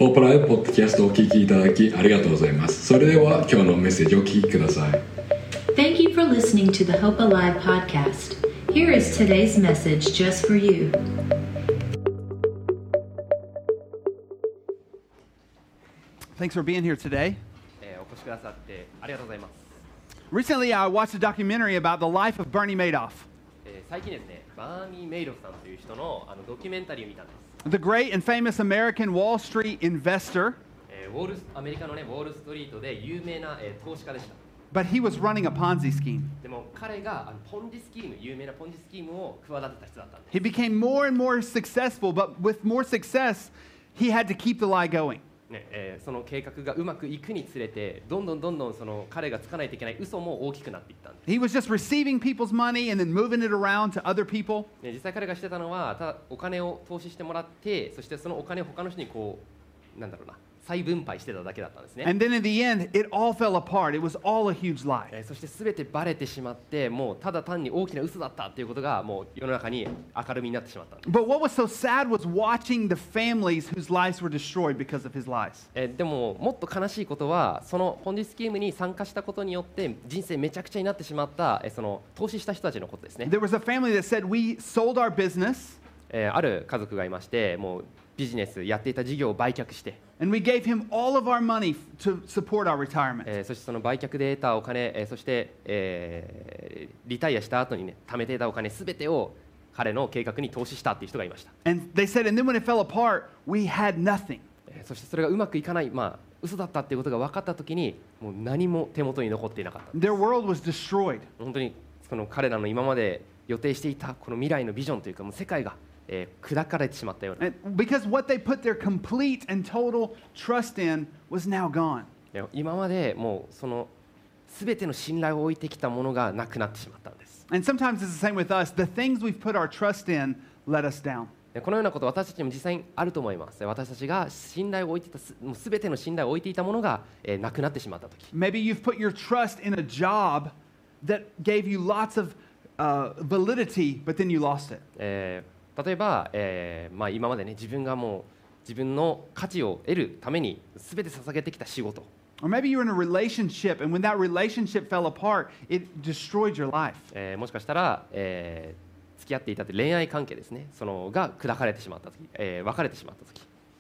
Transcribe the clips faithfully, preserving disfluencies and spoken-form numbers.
ホープライブポッドキャストをお聞きいただきありがとうございます。それでは今日のメッセージをお聞きください。 Thank you for listening to the Hope Alive podcast. Here is today's message just for you. Thanks for being here today. えーお越しくださってありがとうございます。 Recently, I watched a documentary about the life of Bernie Madoff, えー最近ですね、バーニー・メイドフさんという人のあのドキュメンタリーを見たんです。 the great and famous American Wall Street investor, えーウォールスアメリカのね、ウォールストリートで有名な、えー投資家でした。 but he was running a Ponzi scheme. でも彼があのポンジスキーム、有名なポンジスキームを企てた人だったんです。 He became more and more successful, but with more success, he had to keep the lie going. ねえーその計画がうまくいくにつれて、どんどんどんどんその彼がつかないといけない嘘も大きくなっていったんです。 He was just receiving people's money and then moving it around to other people. ね実際彼がしてたのは、ただお金を投資してもらって、そしてそのお金を他の人にこう、なんだろうな、再分配してただけだったんですね。 And then in the end, it all fell apart. It was all a huge lie. えーそして全てバレてしまって、もうただ単に大きな嘘だったっていうことがもう世の中に明るみになってしまったんです。 But what was so sad was watching the families whose lives were destroyed because of his lies. えーでももっと悲しいことは、そのポンジスキームに参加したことによって人生めちゃくちゃになってしまった、えーその投資した人たちのことですね。 There was a family that said, we sold our business えーある家族がいまして、もうビジネスやっていた事業を売却して、 and we gave him all of our money to support our retirement. えーそしてその売却で得たお金、えーそして、えーリタイアした後にね、貯めていたお金すべてを彼の計画に投資したっていう人がいました。 And they said, and then when it fell apart, we had nothing. えーそしてそれがうまくいかない、まあ嘘だったっていうことが分かったときに、もう何も手元に残っていなかった。 Their world was destroyed. 本当にその彼らの今まで予定していたこの未来のビジョンというか、もう世界が、えー砕かれてしまったような。 And because what they put their complete and total trust in was now gone. で今までもうその全ての信頼を置いてきたものがなくなってしまったんです。 And sometimes it's the same with us. The things we've put our trust in let us down. でこのようなこと私たちにも実際にあると思います。私たちが信頼を置いていたすもう全ての信頼を置いていたものが、えーなくなってしまったとき、 Maybe you've put your trust in a job that gave you lots of uh, validity, but then you lost it. えー例えば、えーまあ、今までね自分がもう自分の価値を得るために全て捧げてきた仕事、 Or maybe you're in a relationship, and when that relationship fell apart, it destroyed your life. えーもしかしたら、えー付き合っていたって恋愛関係ですね、そのが砕かれてしまったとき、えー別れてしまったとき、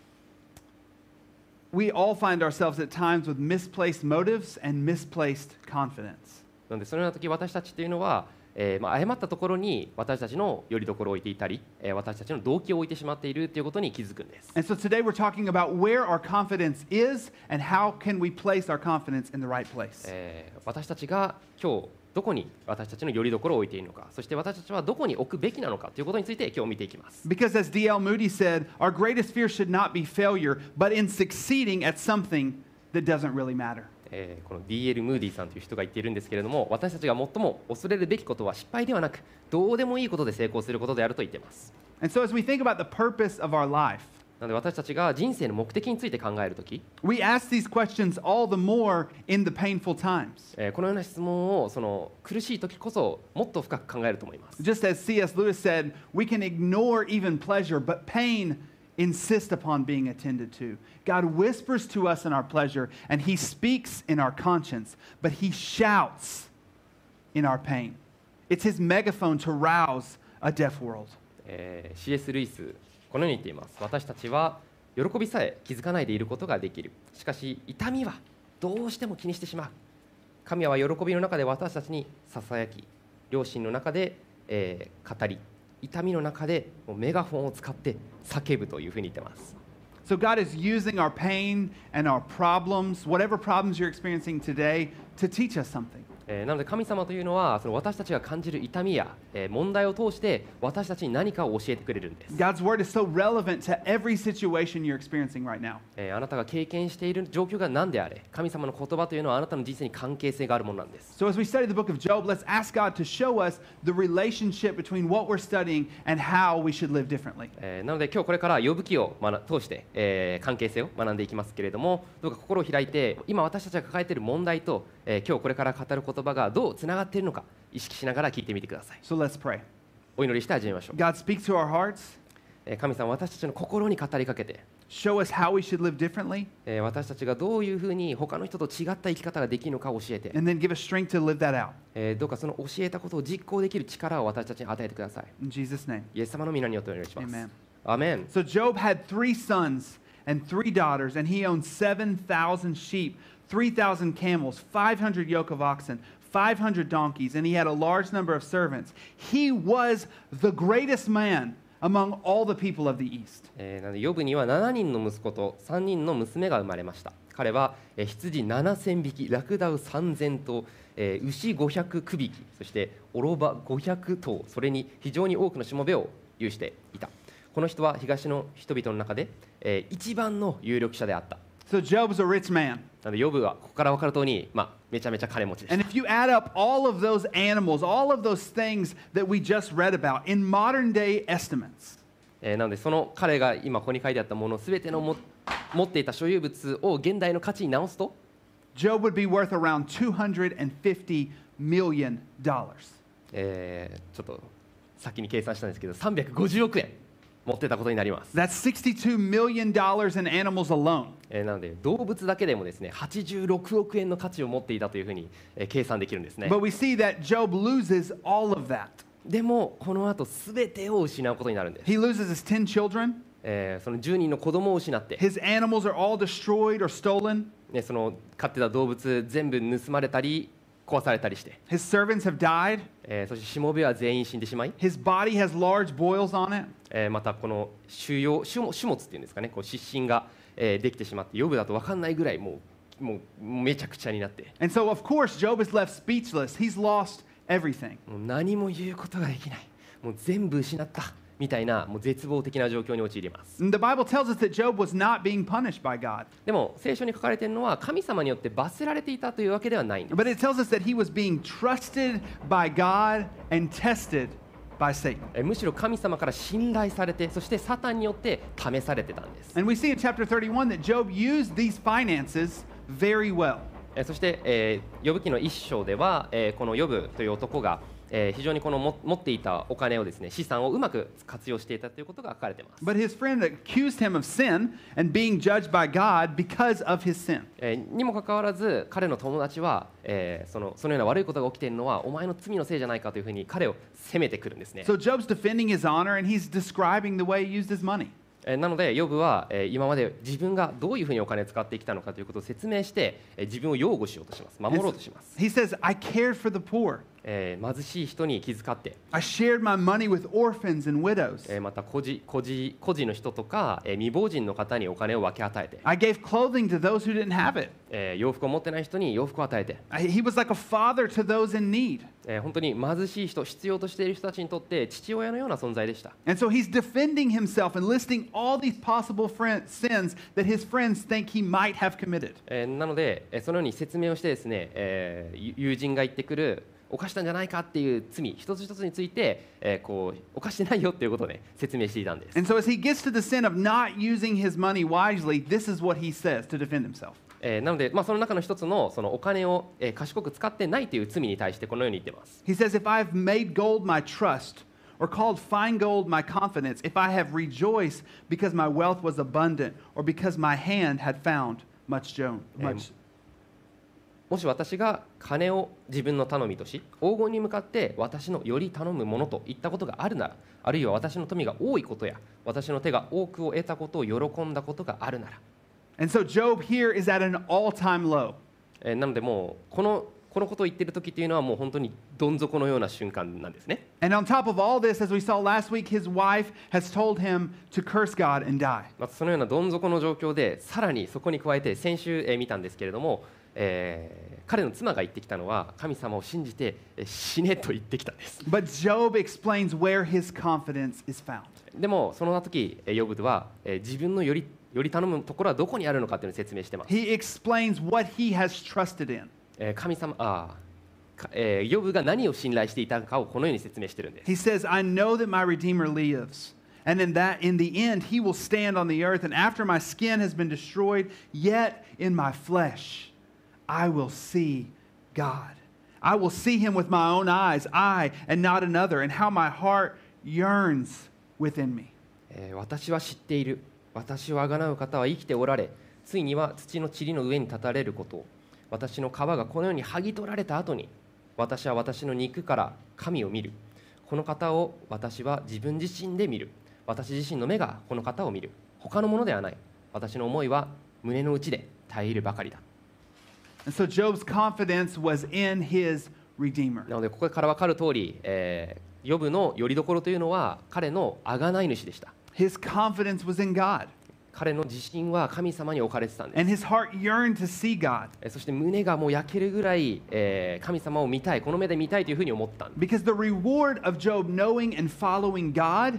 We all find ourselves at times with misplaced motives and misplaced confidence. なのでそのようなとき私たちというのは、えーまあ、誤ったところに私たちの拠り所を置いていたり、えー私たちの動機を置いてしまっているということに気づくんです。 And so today we're talking about where our confidence is and how can we place our confidence in the right place. えー私たちが今日どこに私たちの拠り所を置いているのか、そして私たちはどこに置くべきなのかということについて今日見ていきます。 Because as D L Moody said, our greatest fear should not be failure, but in succeeding at something that doesn't really matter. えーこの ディーエル ムーディさんという人が言っているんですけれども、私たちが最も恐れるべきことは失敗ではなく、どうでもいいことで成功することであると言っています。 And so as we think about the purpose of our life, なので私たちが人生の目的について考えるとき、 we ask these questions all the more in the painful times. えーこのような質問をその苦しいときこそもっと深く考えると思います。 Just as C S Lewis said, we can ignore even pleasure, but pain insist upon being attended to. God whispers to us in our pleasure, and He speaks in our conscience, but He shouts in our pain. It's His megaphone to rouse a deaf world. えー シーエス ルイスこのように言っています。私たちは喜びさえ気づかないでいることができる。しかし痛みはどうしても気にしてしまう。神は喜びの中で私たちにささやき、良心の中で、えー語り、痛みの中でもうメガホンを使って叫ぶというふうに言ってます。 So God is using our pain and our problems, whatever problems you're experiencing today, to teach us something. えーなので神様というのはその私たちが感じる痛みや、えー問題を通して私たちに何かを教えてくれるんです。 God's word is so relevant to every situation you're experiencing right now. えーあなたが経験している状況が何であれ、神様の言葉というのはあなたの人生に関係性があるものなんです。 So as we study the book of Job, let's ask God to show us the relationship between what we're studying and how we should live differently. えーなので今日これから呼ぶ記を学通して、えー関係性を学んでいきますけれども、どうか心を開いて今私たちが抱えている問題と、えー今日これから語る言葉がどうつながっているのか意識しながら聞いてみてください。 So let's pray. お祈りして始めましょう。 God, speak to our hearts. えー神様、私たちの心に語りかけて、 show us how we should live differently, えー私たちがどういうふうに他の人と違った生き方ができるのかを教えて、 and then give us strength to live that out. えーどうかその教えたことを実行できる力を私たちに与えてください。 In Jesus' name, イエス様の皆によってお願いします。 amen. アーメン。 So Job had three sons and three daughters, and he owned seven thousand sheep, three thousand camels, five hundred yoke of oxen, five hundred donkeys, and he had a large number of servants. He was the greatest man among all the people of the East. えーなのでヨブにはななにんの息子とさんにんの娘が生まれました。彼は、えー羊ななせんびき、ラクダウさんぜんとう、えー牛ごひゃくくびき、そしてオロバごひゃくとう、それに非常に多くのしもべを有していた。この人は東の人々の中で、えー一番の有力者であった。 So Job was a rich man. なのでヨブはここから分かる通り、まあ、めちゃめちゃ金持ちでし And た。 if you add up all of those animals, all of those things that we just read about in modern day estimates, えーなのでその彼が今ここに書いてあったものすべてのも持っていた所有物を現代の価値に直すと、 Job would be worth around two hundred fifty million dollars. えーちょっと先に計算したんですけどさんびゃくごじゅうおくえん持ってたことになります。 That's sixty-two million dollars in animals alone. えーなので動物だけでもですねはちじゅうろくおくえんの価値を持っていたというふうに、えー計算できるんですね。 But we see that Job loses all of that. でもこの後すべてを失うことになるんです。 He loses his ten children. えーそのじゅうにんの子供を失って、 His animals are all destroyed or stolen. ね、その飼ってた動物全部盗まれたり壊されたりして、 His servants have died. えーそしてしもべは全員死んでしまい、 His body has large boils on it. えーまたこの腫瘍種物種物っていうんですかね、こう湿疹が、えーできてしまって、ヨブだと分かんないぐらいもうもうめちゃくちゃになって、 And so, of course, Job is left speechless. He's lost everything. もう何も言うことができない、もう全部失ったみたいなもう絶望的な状況に陥ります。 And the Bible tells us that Job was not being punished by God, でも聖書に書かれているのは神様によって罰せられていたというわけではないんです。 but it tells us that he was being trusted by God and tested by Satan. えーむしろ神様から信頼されて、そしてサタンによって試されてたんです。 And we see in chapter thirty-one that Job used these finances very well. えーそして、えー、ヨブ記の一章では、えーこのヨブという男が、えー非常にこのも持っていたお金をですね、資産をうまく活用していたということが書かれています。 But his friend accused him of sin and being judged by God because of his sin. えーにもかかわらず彼の友達は、えーそのそのような悪いことが起きているのはお前の罪のせいじゃないかというふうに彼を責めてくるんですね。 So Job's defending his honor and he's describing the way he used his money. えーなのでヨブは、えー今まで自分がどういうふうにお金を使ってきたのかということを説明して、えー自分を擁護しようとします。守ろうとします。 He says, I cared for the poor. えー貧しい人に気遣って、 I shared my money with orphans and widows. えーまた孤児孤児孤児の人とか、えー未亡人の方にお金を分け与えて、 I gave clothing to those who didn't have it. えー洋服を持ってない人に洋服を与えて、 I- He was like a father to those in need. えー本当に貧しい人、必要としている人たちにとって父親のような存在でした。 And so he's defending himself and listing all these possible friend, sins that his friends think he might have committed. えーなので、えーそのように説明をしてですね、えーゆ友人が言ってくる犯したんじゃないかっていう罪一つ一つについて、えーこう犯してないよっていうことで説明していたんです。 And so as he gets to the sin of not using his money wisely, this is what he says to defend himself. えーなので、まあ、その中の一つのそのお金を、えー賢く使ってないという罪に対してこのように言っています。 He says, If I've made gold my trust, or called fine gold my confidence, if I have rejoiced because my wealth was abundant, or because my hand had found much jo- much もし私が金を自分の頼みとし黄金に向かって私のより頼むものと言ったことがあるなら、あるいは私の富が多いことや私の手が多くを得たことを喜んだことがあるなら、 And so Job here is at an all-time low. えーなのでもうこのこのことを言っている時っていうのはもう本当にどん底のような瞬間なんですね。 And on top of all this, as we saw last week, his wife has told him to curse God and die. またそのようなどん底の状況でさらにそこに加えて先週、えー見たんですけれども、えー彼の妻が言ってきたのは神様を信じて、えー死ねと言ってきたんです。 But Job explains where his confidence is found. でもその時えーヨブは、えー自分のよりより頼むところはどこにあるのかというのを説明しています。 He explains what he has trusted in. えー神様あーかえーヨブが何を信頼していたかをこのように説明しているんです。 He says, I know that my Redeemer lives, and in that in the end he will stand on the earth, and after my skin has been destroyed, yet in my flesh I will see God. I will see him with my own eyes, I and not another, and how my heart yearns within me. えー私は知っている。 私をあがなう方は生きておられ、ついには土の塵の上に立たれることを。私の皮がこのように剥ぎ取られた後に、私は私の肉から神を見る。この方を私は自分自身で見る。私自身の目がこの方を見る。他のものではない。私の思いは胸の内で絶えるばかりだ。 And so Job's confidence was in his Redeemer. なのでここから分かる通り、えー、ヨブの拠り所というのは彼の贖い主でした。 His confidence was in God. 彼の自信は神様に置かれてたんです。 And his heart yearned to see God. えーそして胸がもう焼けるぐらい、えー神様を見たい、この目で見たいというふうに思ったんです。 Because the reward of Job knowing and following God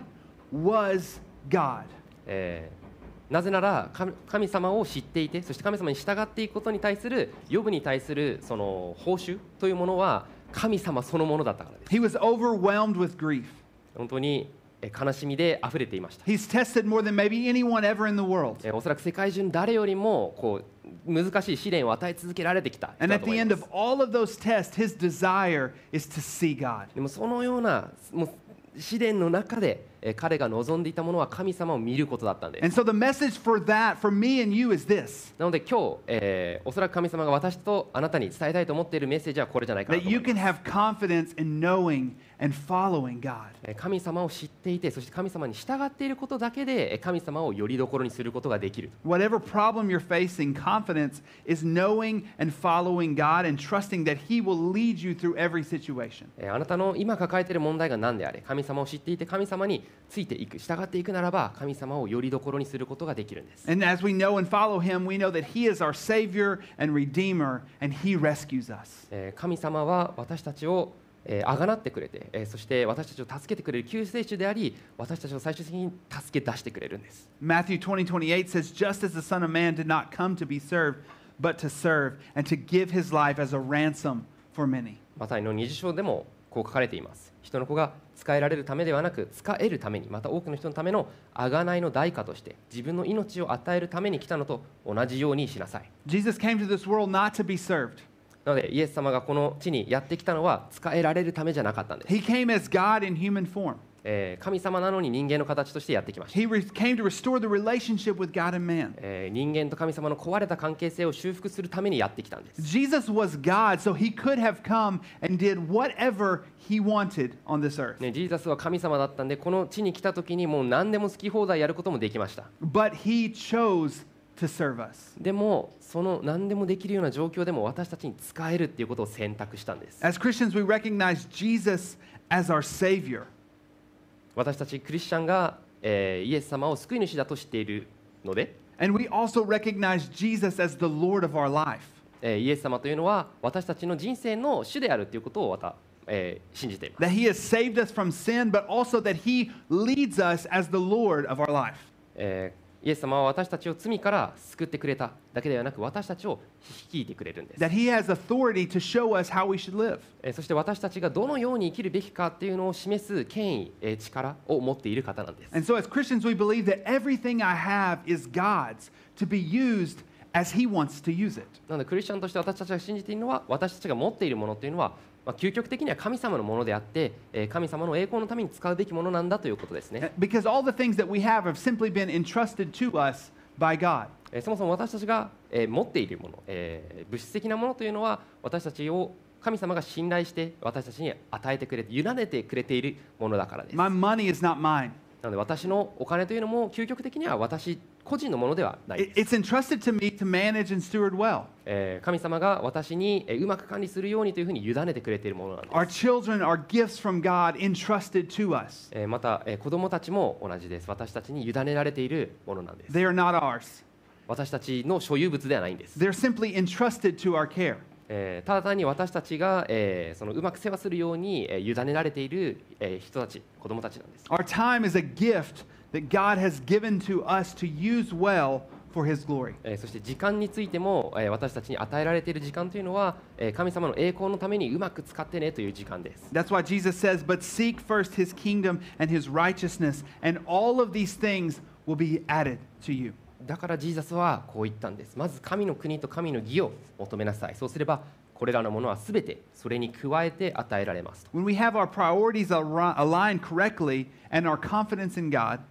was God. えーなぜなら神神様を知っていて、そして神様に従っていくことに対するヨブに対するその報酬というものは神様そのものだったからです。 He was overwhelmed with grief. 本当にえー悲しみで溢れていました。 He's tested more than maybe anyone ever in the world. えーおそらく世界中の誰よりもこう難しい試練を与え続けられてきた人 And だ at と思 the い end ま of す。 all of those tests, his desire is to see God. でもそのようなもう試練の中でえー彼が望んでいたものは神様を見ることだったんです。 And so the message for that, for me and you, is this: なので今日、えーおそらく神様が私とあなたに伝えたいと思っているメッセージはこれじゃないかな that と思 you います。 can have confidence in knowing and following God. えー神様を知っていて、そして神様に従っていることだけでえー神様をよりどころにすることができる。 Whatever problem you're facing, confidence is knowing and following God and trusting that He will lead you through every situation. えーあなたの今抱えている問題が何であれ、神様を知っていて神様についていく、従っていくならば神様をよりどころにすることができるんです。 And as we know and follow Him, we know that He is our Savior and Redeemer, and He rescues us. えー神様は私たちをえー、あがなってくれて、えーそして私たちを助けてくれる救世主であり、私たちを最終的に助け出してくれるんです。 Matthew twenty twenty-eight says, "Just as the Son of Man did not come to be served, but to serve, and to give His life as a ransom for many." マタイのにじゅう章でもこう書かれています。人の子が使えられるためではなく、使えるために、また多くの人のための贖いの代価として自分の命を与えるために来たのと同じようにしなさい。 Jesus came to this world not to be served. なのでイエス様がこの地にやってきたのは使えられるためじゃなかったんです。 He came as God in human form. えー神様なのに人間の形としてやってきました。 He re- came to restore the relationship with God and man. えー人間と神様の壊れた関係性を修復するためにやってきたんです。 Jesus was God, so He could have come and did whatever He wanted on this earth. ね、ジーザスは神様だったんで、この地に来た時にもう何でも好き放題やることもできました。 But He chose to serve us. でもその何でもできるような状況でも私たちに使えるっていうことを選択したんです。 As Christians, we recognize Jesus as our Savior. 私たちクリスチャンが、えーイエス様を救い主だと知っているので、 And we also recognize Jesus as the Lord of our life. えーイエス様というのは私たちの人生の主であるということをまた、えー信じています。 That He has saved us from sin, but also that He leads us as the Lord of our life. えーイエス様は私たちを罪から救ってくれただけではなく、私たちを率いてくれるんです。 That He has authority to show us how we should live. えーそして私たちがどのように生きるべきかっていうのを示す権威、えー力を持っている方なんです。 And so as Christians, we believe that everything I have is God's to be used as He wants to use it. なのでクリスチャンとして私たちが信じているのは、私たちが持っているものというのは、まあ、究極的には神様のものであって、えー神様の栄光のために使うべきものなんだということですね。 Because all the things that we have have simply been entrusted to us by God. えーそもそも私たちが、えー持っているもの、えー物質的なものというのは、私たちを神様が信頼して私たちに与えてくれて、委ねてくれているものだからです。 My money is not mine. なので私のお金というのも究極的には私個人のものではない It- です。 It's entrusted to me to manage and steward well. えー神様が私にえーうまく管理するようにというふうに委ねてくれているものなんです。 Our children are gifts from God entrusted to us. えーまた、えー子供たちも同じです。私たちに委ねられているものなんです。 They are not ours. 私たちの所有物ではないんです。 They're simply entrusted to our care. えーただ単に私たちが、えーそのうまく世話するように、えー委ねられている、えー人たち、子供たちなんです。 Our time is a gift that God has given to us to use well for His glory. えーそして時間についても、えー私たちに与えられている時間というのは、えー神様の栄光のためにうまく使ってねという時間です。 That's why Jesus says, "But seek first His kingdom and His righteousness, and all of these things will be added to you." だからジーザスはこう言ったんです。まず神の国と神の義を求めなさい。そうすればこれらのものはすべてそれに加えて与えられますと。 When we have our priorities al- aligned correctly and our confidence in God,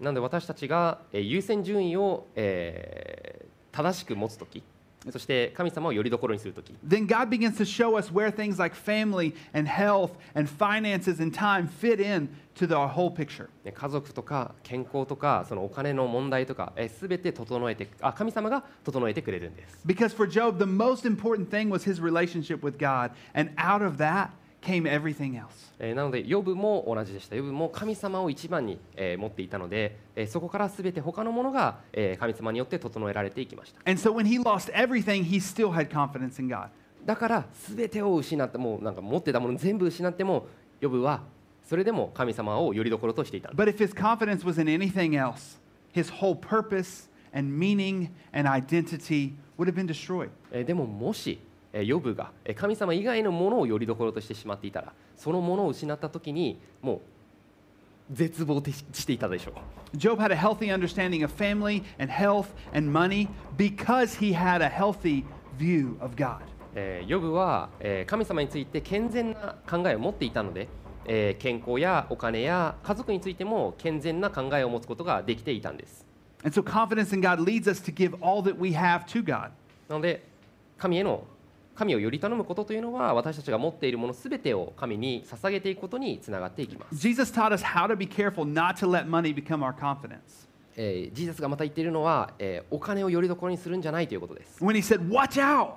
なので私たちがえー優先順位を、えー正しく持つとき、そして神様をよりどころにするとき、 then God begins to show us where things like family and health and finances and time fit in to the whole picture. ね家族とか健康とかそのお金の問題とかすべて整えてあ神様が整えてくれるんです。 Because for Job, the most important thing was his relationship with God, and out of that came everything else. えーなのでヨブも同じでした。ヨブも神様を一番に、えー持っていたので、えーそこからすべて他のものが、えー神様によって整えられていきました。 And so when he lost everything, he still had confidence in God. だからすべてを失ってもうなんか持ってたもの全部失ってもヨブはそれでも神様をよりどころとしていたんです。 But if his confidence was in anything else, his whole purpose and meaning and identity would have been destroyed. えーでももしえーヨブがえー神様以外のものをよりどころとしてしまっていたら、そのものを失った時にもう絶望していたでしょう。 Job had a healthy understanding of family and health and money because he had a healthy view of God. えーヨブは、えー神様について健全な考えを持っていたので、えー健康やお金や家族についても健全な考えを持つことができていたんです。 And so confidence in God leads us to give all that we have to God. なので神への神をより頼むことというのは私たちが持っているものすべてを神に捧げていくことにつながっていきます。 Jesus taught us how to be careful not to let money become our confidence. えージーザスがまた言っているのは、えーお金をよりどころにするんじゃないということです。 When he said, watch out,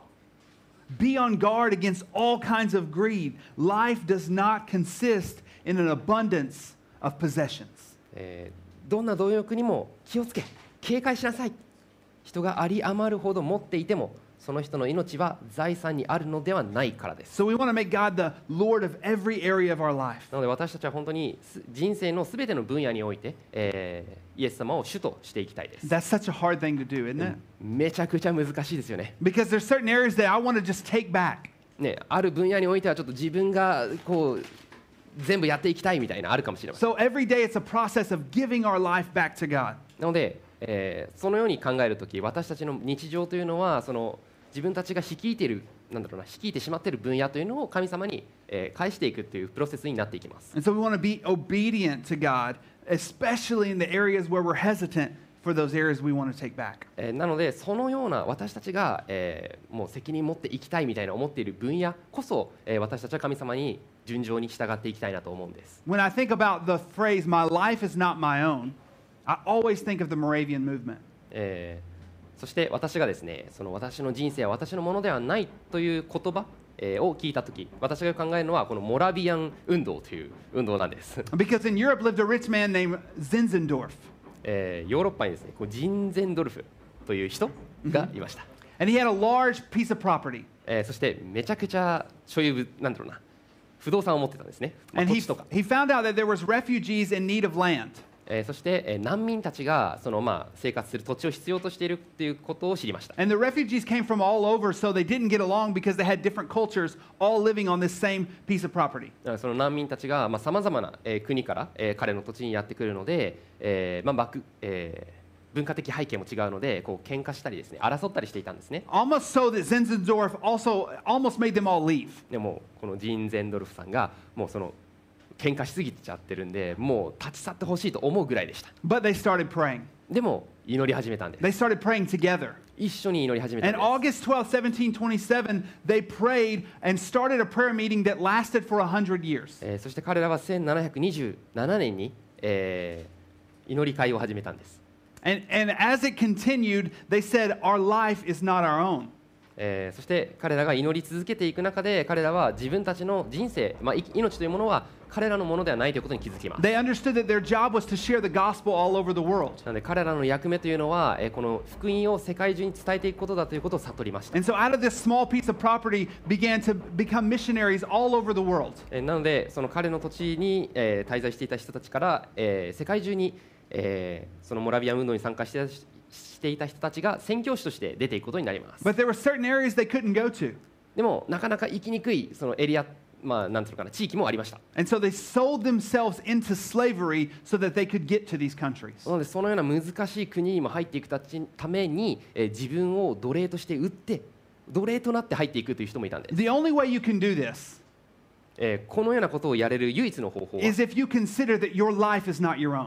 be on guard against all kinds of greed. Life does not consist in an abundance of possessions. えーどんな貪欲にも気をつけ警戒しなさい。人があり余るほど持っていてもその人の命は財産にあるのではないからです。 So we want to make God the Lord of every area of our life. なので私たちは本当にす人生のすべての分野において、えーイエス様を主としていきたいです。 That's such a hard thing to do, isn't it? めちゃくちゃ難しいですよね。 Because there's certain areas that I want to just take back. ね、ある分野においてはちょっと自分がこう全部やっていきたいみたいなあるかもしれません。 So every day it's a process of giving our life back to God. なので、えーそのように考えるとき私たちの日常というのはその自分たちが率いているなんだろうな率いてしまっている分野というのを神様に、えー返していくというプロセスになっていきます。 And so we want to be obedient to God, especially in the areas where we're hesitant for those areas we want to take back. えーなのでそのような私たちが、えーもう責任持っていきたいみたいな思っている分野こそ、えー私たちは神様に順調に従っていきたいなと思うんです。 When I think about the phrase, my life is not my own, I always think of the Moravian movement. えーそして私がですねその私の人生は私のものではないという言葉、えーを聞いたとき私が考えるのはこのモラビアン運動という運動なんです、 Because in Europe lived a rich man named Zinzendorf. えーヨーロッパにですねこうジンゼンドルフという人がいました、 And he had a large piece of property. えーそしてめちゃくちゃ所有物なんだろうな不動産を持ってたんですね、まあ And 土 he, 地とか、 he found out that there was refugees in need of land. えーそして、えー難民たちがその、まあ、生活する土地を必要としているっていうことを知りました。 And the refugees came from all over, so they didn't get along because they had different cultures all living on this same piece of property. だからその難民たちがさまざ、まな、えー国から、えー彼の土地にやってくるので、えーまあバクえー文化的背景も違うのでこう喧嘩したりですね争ったりしていたんですね。 Almost so that Zinzendorf also almost made them all leave. でもこのジンゼンドルフさんがもうその喧嘩しすぎちゃってるんでもう立ち去ってほしいと思うぐらいでした。 But they started praying. でも祈り始めたんです。 They started praying together. 一緒に祈り始めたん And です August twelfth, seventeen twenty-seven, they prayed and started a prayer meeting that lasted for one hundred years. えーそして彼らはせんななひゃくにじゅうななねんに、えー祈り会を始めたんです。 And, and as it continued, they said, our life is not our own. えーそして彼らが祈り続けていく中で彼らは自分たちの人生、まあ、い命というものは彼らのものではないということに気づきます。 They understood that their job was to share the gospel all over the world. なので彼らの役目というのは、えーこの福音を世界中に伝えていくことだということを悟りました。 And so out of this small piece of property began to become missionaries all over the world. えーなのでその彼の土地に、えー滞在していた人たちから、えー世界中に、えーそのモラビアン運動に参加してしていた人たちが宣教師として出ていくことになります。 But there were certain areas they couldn't go to. でもなかなか行きにくいそのエリア、まあ、なんていうのかな地域もありました。 And so they sold themselves into slavery so that they could get to these countries. なのでそのような難しい国にも入っていくたちために、えー自分を奴隷として売って奴隷となって入っていくという人もいたんです。 The only way you can do this えーこのようなことをやれる唯一の方法は is if you consider that your life is not your own.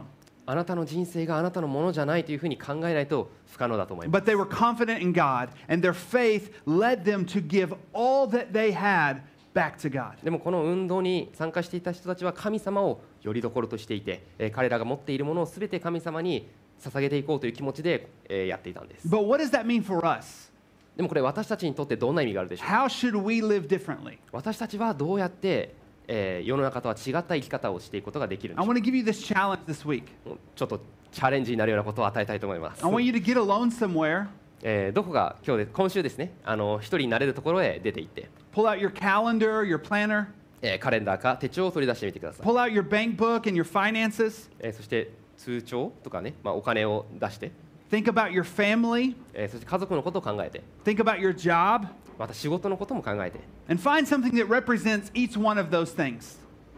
あなたの人生があなたのものじゃないというふうに考えないと不可能だと思います。 But they were confident in God, and their faith led them to give all that they had back to God. でもこの運動に参加していた人たちは神様をよりどころとしていて、えー彼らが持っているものをすべて神様に捧げていこうという気持ちで、えーやっていたんです。 But what does that mean for us? でもこれ私たちにとってどんな意味があるでしょうか。 How should we live differently? 私たちはどうやって、えー世の中とは違った生き方をしていくことができるんで I しょう want to give you this challenge this week. か。ちょっとチャレンジになるようなことを与えたいと思います。 I want you to get alone somewhere, えーどこが今日で今週ですね、あの一人になれるところへ出て行って、 pull out your calendar, your planner, えーカレンダーか手帳を取り出してみてください。 pull out your bank book and your finances. えーそして通帳とかね、まあ、お金を出して、 Think about your family, えーそして家族のことを考えて、 think about your job, また仕事のことも考えて、 and find something that represents each one of those things.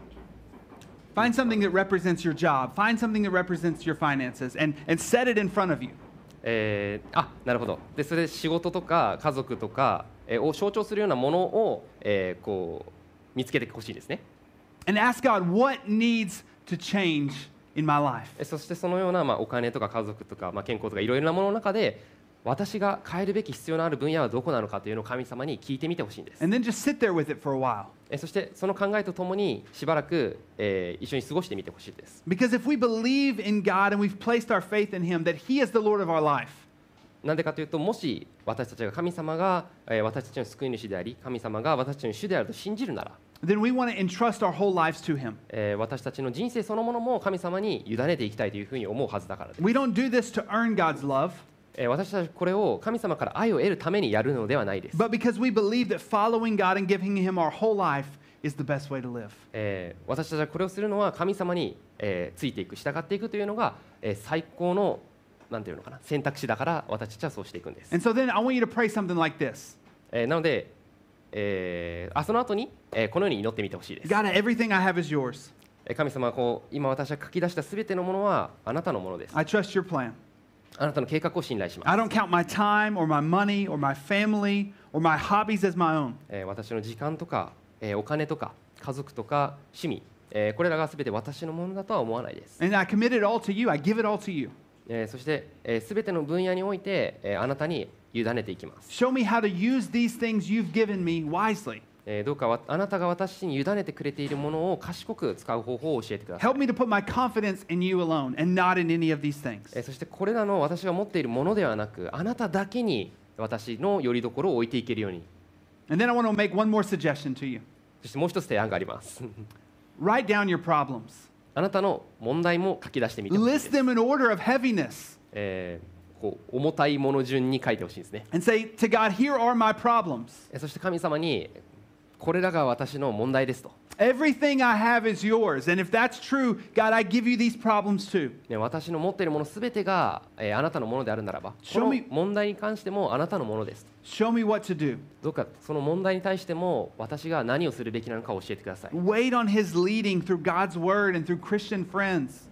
Find something that represents your job, find something that represents your finances, and, and set it in front of you. えーあなるほど。でそれで仕事とか家族とか、えーを象徴するようなものを、えーこう見つけてほしいですね。 And ask God, what needs to change in my life? えーそしてそのような、まあ、お金とか家族とか、まあ、健康とかいろいろなものの中で私が変えるべき必要のある分野はどこなのかというのを神様に聞いてみてほしいんです。 And then just sit there with it for a while. えーそしてその考えとともにしばらく、えー一緒に過ごしてみてほしいです。 Because if we believe in God and we've placed our faith in Him, that He is the Lord of our life, なんでかというと、もし私たちが神様が、えー私たちの救い主であり、神様が私たちの主であると信じるなら、 then we want to entrust our whole lives to Him. えー私たちの人生そのものも神様に委ねていきたいというふうに思うはずだからです。 We don't do this to earn God's love, えー私たちこれを神様から愛を得るためにやるのではないです。 but because we believe that following God and giving Him our whole life is the best way to live. えー私たちはこれをするのは神様に、えーついていく、従っていくというのが、えー最高のなんていうのかな、選択肢だから私たちはそうしていくんです。 And so then I want you to pray something like this. えーなので、えーあその後に、えーこのように祈ってみてほしいです。 God, everything I have is yours. えー神様はこう今私が書き出したすべてのものはあなたのものです。 I trust your plan. あなたの計画を信頼します。 I don't count my time or my money or my family or my hobbies as my own. えー私の時間とか、えーお金とか家族とか趣味、えーこれらがすべて私のものだとは思わないです。 And I commit it all to you. I give it all to you. えーそしてすべ、えー、ての分野において、えーあなたに委ねていきます。 Show me how to use these things you've given me wisely. えーどうかわあなたが私に委ねてくれているものを賢く使う方法を教えてください。 Help me to put my confidence in you alone and not in any of these things. えーそしてこれらの私が持っているものではなく、あなただけに私の拠り所を置いていけるように。 And then I want to make one more suggestion to you. そしてもう一つ提案があります。 Write down your problems. あなたの問題も書き出してみてほしいで List す。 them in order of heaviness えーこう重たいもの順に書いてほしいですね。 and say to God, here are my problems. えーそして神様にこれらが私の問題ですと。 Everything I have is yours. And if that's true, God, I give you these problems too. ね、私の持っているものすべてが、えーあなたのものであるならば、こ Show の me- 問題に関してもあなたのものですと。 Show me what to do. どうかその問題に対しても私が何をするべきなのか教えてください。 Wait on His leading through God's word and through Christian friends.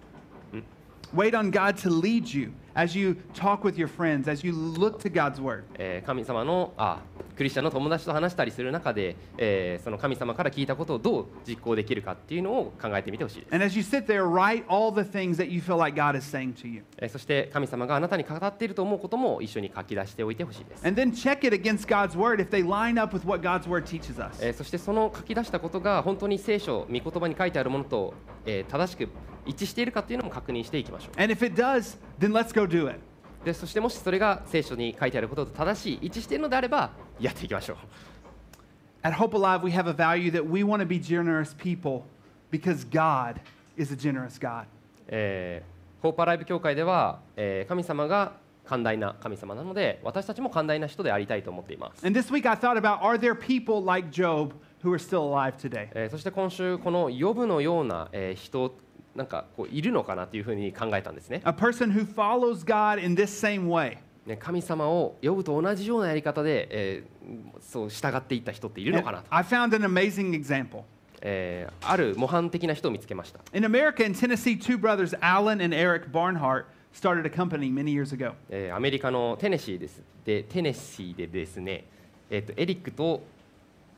Wait on God to lead you as you talk with your friends, as you look to God's word. えー神様のあクリスチャンの友達と話したりする中で、えーその神様から聞いたことをどう実行できるかっていうのを考えてみてほしいです。 And as you sit there, write all the things that you feel like God is saying to you. えーそして神様があなたに語っていると思うことも一緒に書き出しておいてほしいです。 And then check it against God's word if they line up with what God's word teaches us. えーそしてその書き出したことが本当に聖書、御言葉に書いてあるものと、えー正しく一致しているかっていうのも確認していきましょう。 And if it does, then let's go do it. でそしてもしそれが聖書に書いてあることと正しい、一致しているのであればやっていきましょう。 At Hope Alive, we have a value that we want to be generous people because God is a generous God. えー、ホープアライブ教会では、えー神様が寛大な神様なので、私たちも寛大な人でありたいと思っています。 And this week I thought about, are there people like Job who are still alive today? えーそして今週このヨブのような、えー人なんかこういるのかなというふうに考えたんですね。 A person who follows God in this same way. ね神様をヨブと同じようなやり方で、えーそう従っていった人っているの And かなと、 I found an amazing example. えーある模範的な人を見つけました。 In America, in Tennessee, two brothers, Alan and Eric Barnhart, started a company many years ago. えーアメリカのテネシーですでテネシーでですね、えーとエリックと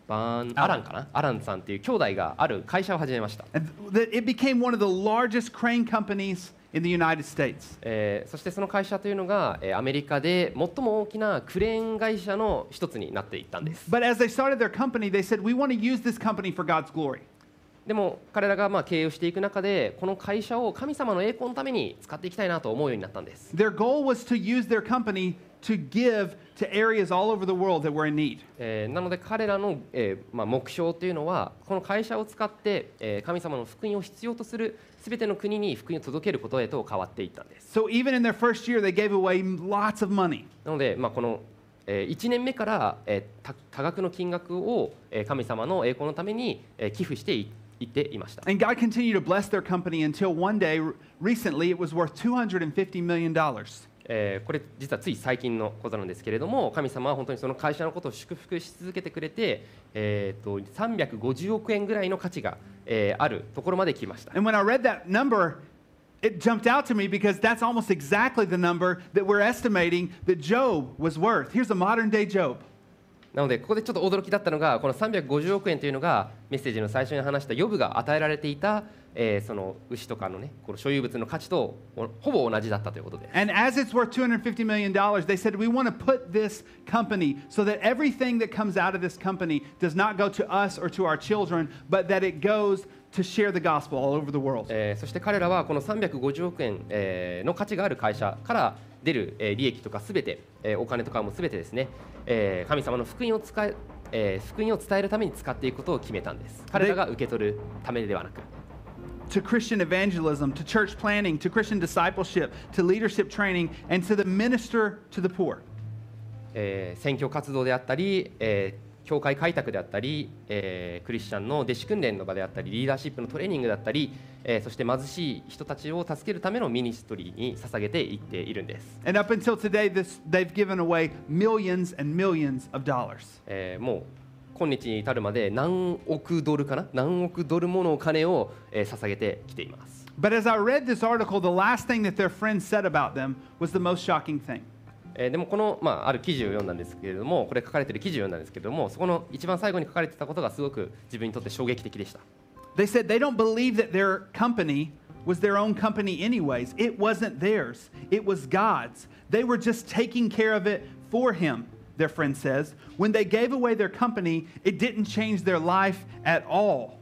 バーンアランかなアランさんっていう兄弟がある会社を始めました。 And th- it became one of the largest crane companies in the United States. えーそしてその会社というのが、えーアメリカで最も大きなクレーン会社の一つになっていったんです。 But as they started their company, they said, we want to use this company for God's glory. でも彼らがまあ経営をしていく中でこの会社を神様の栄光のために使っていきたいなと思うようになったんです。 Their goal was to use their company to give to areas all over the world that were in need. えーなので彼らの、えーまあ、目標というのはこの会社を使って、えー神様の福音を必要とするすべての国に福音を届けることへと変わっていったんです。 So even in their first year, they gave away lots of money. なので、まあ、この、えーいちねんめから、えー、多多額の金額を、えー神様の栄光のために、えー寄付していいっていました。 And God continued to bless their company until one day, r- recently, it was worth two hundred fifty million dollars. えーこれ実はつい最近のことなんですけれども、神様は本当にその会社のことを祝福し続けてくれて、えー、とさんびゃくごじゅうおくえんぐらいの価値が、えーあるところまで来ました。 And when I read that number, it jumped out to me because that's almost exactly the number that we're estimating that Job was worth. Here's a modern day Job. なのでここでちょっと驚きだったのがこのさんびゃくごじゅうおくえんというのがメッセージの最初に話したヨブが与えられていた、えーその牛とかのねこの所有物の価値とほぼ同じだったということです。 And as it's worth two hundred fifty million dollars, they said, we want to put this company so that everything that comes out of this company does not go to us or to our children, but that it goes to share the gospel all over the world. えーそして彼らはこのさんびゃくごじゅうおくえん、えーの価値がある会社から出る、えー利益とかすべて、えーお金とかもすべてですね、えー神様の福音を使ええー福音を伝えるために使っていくことを決めたんです。彼らが受け取るためではなく。 To Christian evangelism, to church planning, to Christian discipleship, to leadership training, and to the minister to the poor. えー選挙活動であったり、えー教会開拓であったり、えークリスチャンの弟子訓練の場であったりリーダーシップのトレーニングだったり、えーそして貧しい人たちを助けるためのミニストリーに捧げていっているんです。 And up until today, this, they've given away millions and millions of dollars. えーもう今日に至るまで何億ドルかな何億ドルものお金を、えー捧げてきています。 But as I read this article, the last thing that their friends said about them was the most shocking thing. えーでもこの、まあ、ある記事を読んだんですけれどもこれ書かれている記事を読んだんですけれどもそこの一番最後に書かれていたことがすごく自分にとって衝撃的でした。 They said they don't believe that their company was their own company anyways. It wasn't theirs. It was God's. They were just taking care of it for him, their friend says. When they gave away their company, it didn't change their life at all.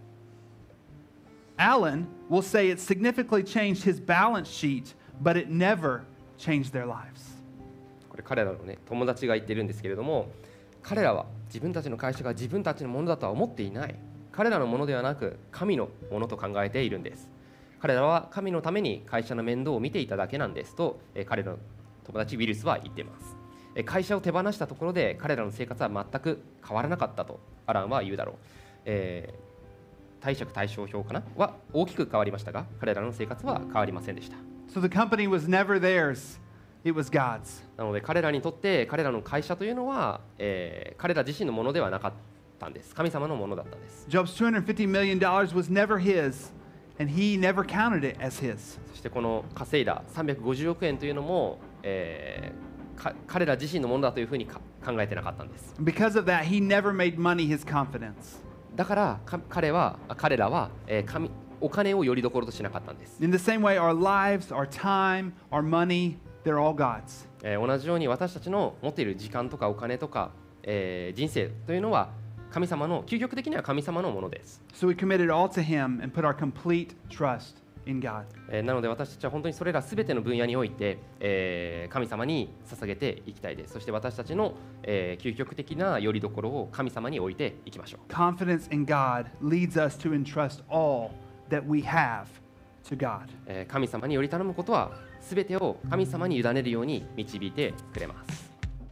Alan will say it significantly changed his balance sheet, but it never changed their lives. これ彼らのね友達が言っているんですけれども彼らは自分たちの会社が自分たちのものだとは思っていない。彼らのものではなく神のものと考えているんです。彼らは神のために会社の面倒を見ていただけなんですと、えー彼らの友達ウィルスは言っています。えー会社を手放したところで彼らの生活は全く変わらなかったとアランは言うだろう。えー貸借対照表かなは大きく変わりましたが彼らの生活は変わりませんでした。 So the company was never theirs. It was God's. なので彼らにとって彼らの会社というのは、えー彼ら自身のものではなかったんです。神様のものだったんです。 Job's two hundred fifty million dollars was never his, and he never counted it as his. そしてこの稼いださんびゃくごじゅうおくえんというのも、えーか彼ら自身のものだというふうにか考えてなかったんです。 Because of that, he never made money his confidence. だからか彼はあ彼らは、えー神お金をよりどころとしなかったんです。 In the same way, our lives, our time, our money, they're all God's. えー同じように私たちの持っている時間とかお金とか、えー人生というのは神様の究極的には神様のものです。 So we committed all to him and put our complete trust in God. えーなので私たちは本当にそれらすべての分野において、えー神様に捧げていきたいです。そして私たちの、えー究極的な拠り所を神様に置いていきましょう。 Confidence in God leads us to entrust all that we have to God. えー神様により頼むことはすべてを神様に委ねるように導いてくれます。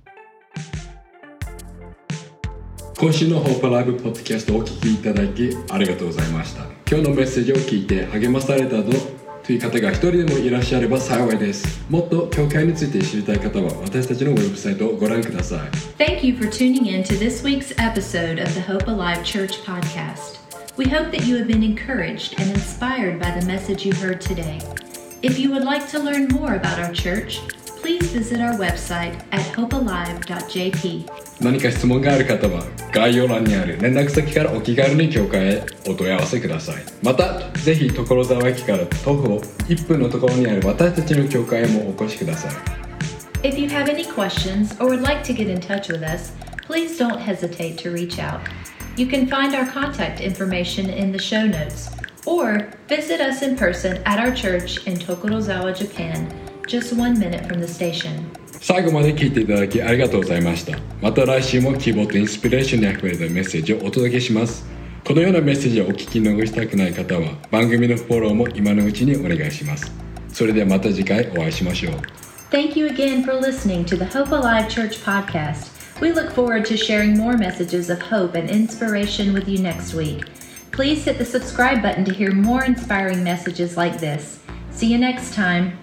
今週のホープライブポッドキャストをお聞きいただきありがとうございました。今日のメッセージを聞いて励まされたぞという方が一人でもいらっしゃれば幸いです。もっと教会について知りたい方は私たちのウェブサイトをご覧ください。 Thank you for tuning in to this week's episode of the Hope Alive Church podcast. We hope that you have been encouraged and inspired by the message you heard today. If you would like to learn more about our church, please visit our website at hope alive dot j p. 何か質問がある方は概要欄にある連絡先からお気軽に教会へお問い合わせください。またぜひ所沢駅から徒歩いっぷんのところにある私たちの教会へもお越しください。 If you have any questions or would like to get in touch with us, please don't hesitate to reach out. You can find our contact information in the show notes or visit us in person at our church in Tokorozawa, Japan, just one minute from the station. 最後まで聞いていただきありがとうございました。また来週も希望とインスピレーションにあふれたメッセージをお届けします。このようなメッセージをお聞き逃したくない方は番組のフォローも今のうちにお願いします。それではまた次回お会いしましょう。 Thank you again for listening to the Hope Alive Church podcast. We look forward to sharing more messages of hope and inspiration with you next week. Please hit the subscribe button to hear more inspiring messages like this. See you next time.